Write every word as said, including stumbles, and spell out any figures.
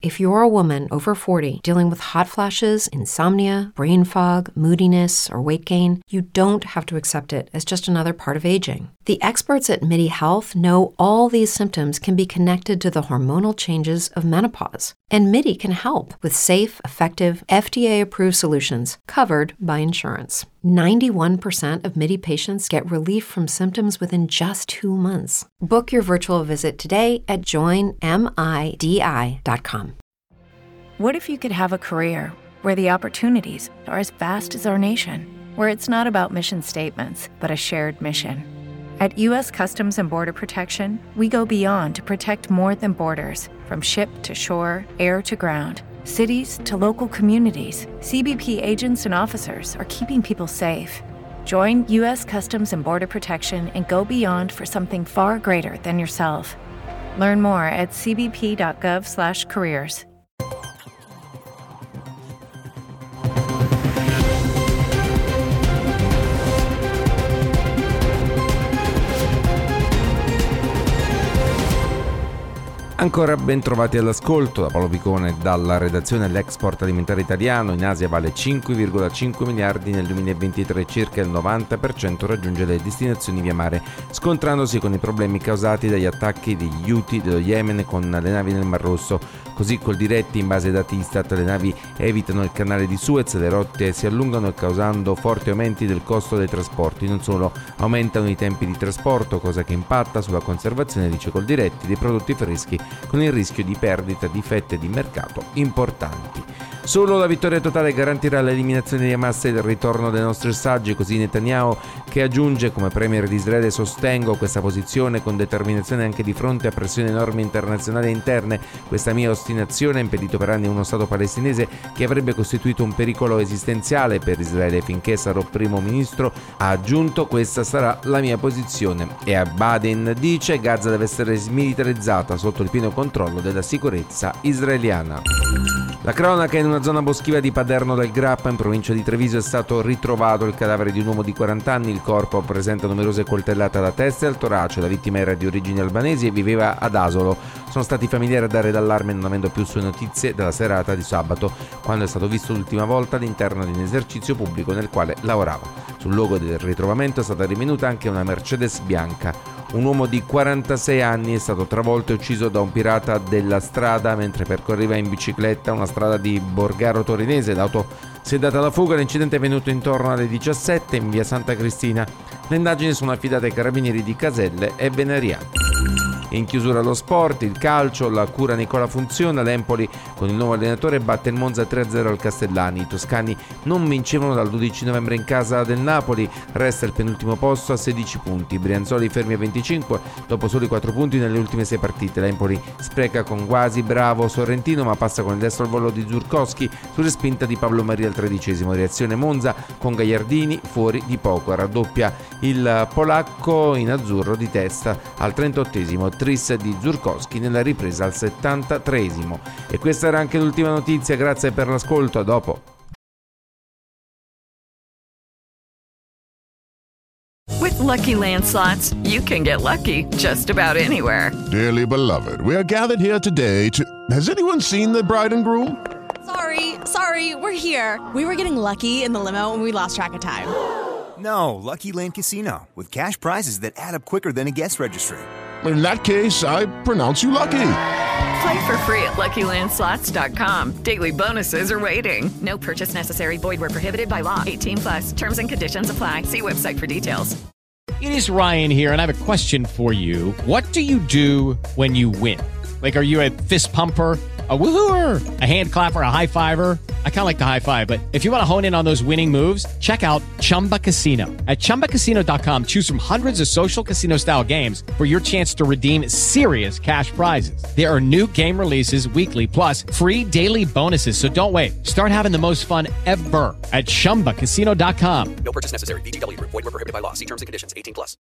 If you're a woman over forty dealing with hot flashes, insomnia, brain fog, moodiness, or weight gain, you don't have to accept it as just another part of aging. The experts at MIDI Health know all these symptoms can be connected to the hormonal changes of menopause. And MIDI can help with safe, effective, F D A-approved solutions covered by insurance. ninety-one percent of MIDI patients get relief from symptoms within just two months. Book your virtual visit today at join midi dot com. What if you could have a career where the opportunities are as vast as our nation, where it's not about mission statements, but a shared mission? At U S Customs and Border Protection, we go beyond to protect more than borders. From ship to shore, air to ground, cities to local communities, C B P agents and officers are keeping people safe. Join U S Customs and Border Protection and go beyond for something far greater than yourself. Learn more at c b p dot gov slash careers. Ancora ben trovati all'ascolto da Paolo Picone dalla redazione. L'export alimentare italiano in Asia vale cinque virgola cinque miliardi nel duemilaventitré, circa il novanta per cento raggiunge le destinazioni via mare, scontrandosi con i problemi causati dagli attacchi degli Houthi dello Yemen con le navi nel Mar Rosso. Così col diretti, in base ai dati Istat, le navi evitano il canale di Suez, le rotte si allungano causando forti aumenti del costo dei trasporti. Non solo, aumentano i tempi di trasporto, cosa che impatta sulla conservazione, dice col diretti, dei prodotti freschi, con il rischio di perdita di fette di mercato importanti. Solo la vittoria totale garantirà l'eliminazione di Hamas e il ritorno dei nostri ostaggi, così Netanyahu, che aggiunge: come premier di Israele sostengo questa posizione con determinazione anche di fronte a pressioni enormi internazionali e interne. Questa mia ostinazione ha impedito per anni uno Stato palestinese che avrebbe costituito un pericolo esistenziale per Israele. Finché sarò primo ministro, ha aggiunto, questa sarà la mia posizione. E a Baden dice: Gaza deve essere smilitarizzata sotto il pieno controllo della sicurezza israeliana. La cronaca: in una zona boschiva di Paderno del Grappa, in provincia di Treviso, è stato ritrovato il cadavere di un uomo di quaranta anni. Il corpo presenta numerose coltellate alla testa e al torace. La vittima era di origini albanesi e viveva ad Asolo. Sono stati i familiari a dare d'allarme, non avendo più sue notizie dalla serata di sabato, quando è stato visto l'ultima volta all'interno di un esercizio pubblico nel quale lavorava. Sul luogo del ritrovamento è stata rinvenuta anche una Mercedes bianca. Un uomo di quarantasei anni è stato travolto e ucciso da un pirata della strada mentre percorreva in bicicletta una strada di Borgaro Torinese. L'auto si è data alla fuga. L'incidente è avvenuto intorno alle diciassette in via Santa Cristina. Le indagini sono affidate ai carabinieri di Caselle e Veneriano. In chiusura allo sport, il calcio, la cura Nicola funziona. L'Empoli con il nuovo allenatore batte il Monza tre a zero al Castellani. I toscani non vincevano dal dodici novembre in casa del Napoli, resta il penultimo posto a sedici punti. Brianzoli fermi a venticinque dopo soli quattro punti nelle ultime sei partite. L'Empoli spreca con quasi bravo Sorrentino, ma passa con il destro al volo di Zurkowski su respinta di Pablo Maria al tredicesimo. Reazione Monza con Gagliardini fuori di poco, raddoppia il polacco in azzurro di testa al trentottesimo. Tris di Zurkowski nella ripresa al settantatreesimo. E questa era anche l'ultima notizia. Grazie per l'ascolto, a dopo. With Lucky Land Slots, you can get lucky just about anywhere. Dearly beloved, we are gathered here today to... Has anyone seen the bride and groom? Sorry, sorry, we're here. We were getting lucky in the limo and we lost track of time. No, Lucky Land Casino, with cash prizes that add up quicker than a guest registry. In that case, I pronounce you lucky. Play for free at lucky land slots dot com. Daily bonuses are waiting. No purchase necessary. Void where prohibited by law. eighteen plus. Terms and conditions apply. See website for details. It is Ryan here, and I have a question for you. What do you do when you win? Like, are you a fist pumper, a woohooer, a hand clapper, a high fiver? I kind of like the high five, but if you want to hone in on those winning moves, check out Chumba Casino. At chumba casino dot com, choose from hundreds of social casino style games for your chance to redeem serious cash prizes. There are new game releases weekly, plus free daily bonuses. So don't wait. Start having the most fun ever at chumba casino dot com. No purchase necessary. V G W. Void where prohibited by law. See terms and conditions. eighteen plus.